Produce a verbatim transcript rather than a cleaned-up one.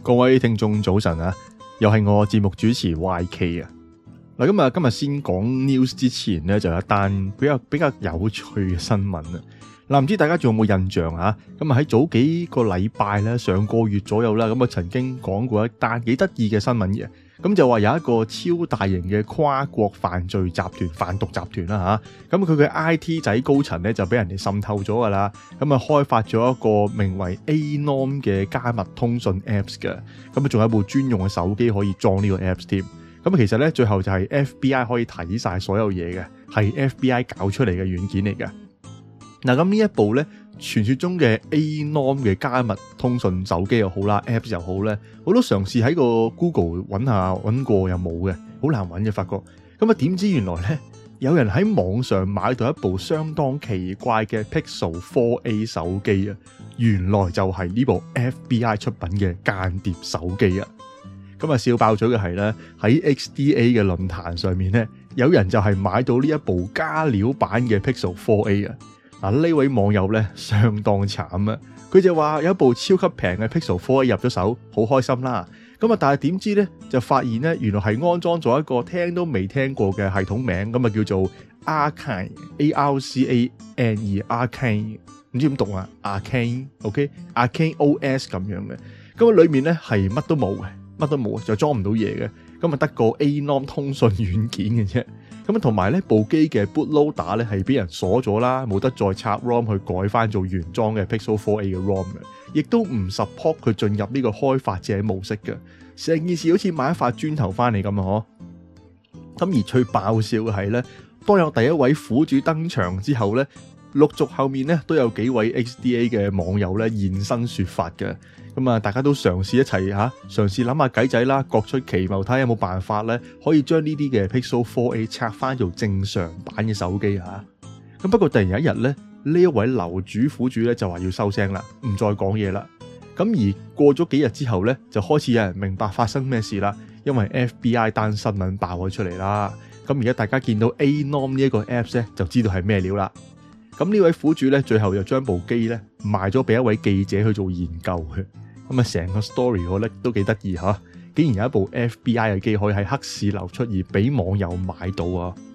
各位聽眾早晨啊，又係我節目主持 Y K 啊。嗱，今日今日先講 news 之前咧，就有一單比較比較有趣嘅新聞啊。嗱，唔知大家仲有冇印象啊？咁啊喺早幾個禮拜咧，上個月左右啦，咁啊曾經講過一單幾得意嘅新聞嘅。咁就話有一個超大型嘅跨國犯罪集團、販毒集團啦吓，咁佢嘅 I T 仔高層咧就俾人哋滲透咗噶啦，咁啊開發咗一個名為 Anom 嘅加密通訊 Apps 嘅，咁啊仲有一部專用嘅手機可以裝呢個 Apps 添。咁其實咧最後就係 F B I 可以睇晒所有嘢嘅，係 F B I 搞出嚟嘅軟件嚟嘅。嗱，咁呢一部咧，傳說中嘅 Anom 嘅加密通訊手機又好啦 ，Apps 又好咧，我都嘗試喺個 Google 揾下揾過又冇嘅，好難揾嘅發覺。咁啊，點知原來咧有人喺網上買到一部相當奇怪嘅 Pixel 四 A 手機啊！原來就係呢部 F B I 出品嘅間諜手機啊！咁啊，笑爆咗嘅係咧喺 X D A 嘅論壇上面咧，有人就係買到呢一部加料版嘅 Pixel 四 A 啊！嗱，呢位網友咧相當慘啊！佢就話有一部超級平嘅 Pixel 四 A 入咗手，好開心啦。咁啊，但係點知咧就發現咧，原來係安裝咗一個聽都未聽過嘅系統名，咁啊叫做 Arkane A R C A N E Arkane， 唔知點讀啊 Arkane，OK Arkane O S 咁樣嘅。咁啊，裏面咧係乜都冇嘅，乜都冇，就裝唔到嘢嘅。咁啊，得個 Anom 通訊軟件嘅啫。咁啊，同埋咧部機嘅 bootloader 咧係俾人鎖咗啦，冇得再插 ROM 去改翻做原裝嘅 Pixel 四 A 嘅 ROM 嘅，亦都唔 support 佢進入呢個開發者模式嘅。成件事好似買一塊磚頭翻嚟咁啊！嗬。咁而最爆笑嘅係咧，當有第一位苦主登場之後咧，陸續後面咧都有幾位 X D A 嘅網友咧現身說法嘅。咁啊，大家都嘗試一齊吓，嘗試諗下計仔啦，各出奇謀，睇下有冇辦法咧，可以將呢啲嘅 Pixel 四 A 拆翻做正常版嘅手機吓。咁不過突然有一日咧，呢一位樓主苦主咧就話要收聲啦，唔再講嘢啦。咁而過咗幾日之後咧，就開始有人明白發生咩事啦，因為 F B I 單新聞爆咗出嚟啦。咁而家大家見到 Anom 呢一個 Apps 咧，就知道係咩料啦。咁呢位苦主咧，最後又將部機咧賣咗俾一位記者去做研究嘅。咁啊，成個 story 我覺得都幾得意吓，竟然有一部 F B I 嘅機可以喺黑市流出而俾網友買到啊！